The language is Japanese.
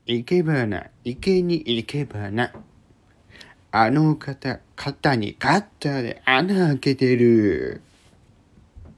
行けばな、池に行けばな。あの肩にカッターで穴開けてる。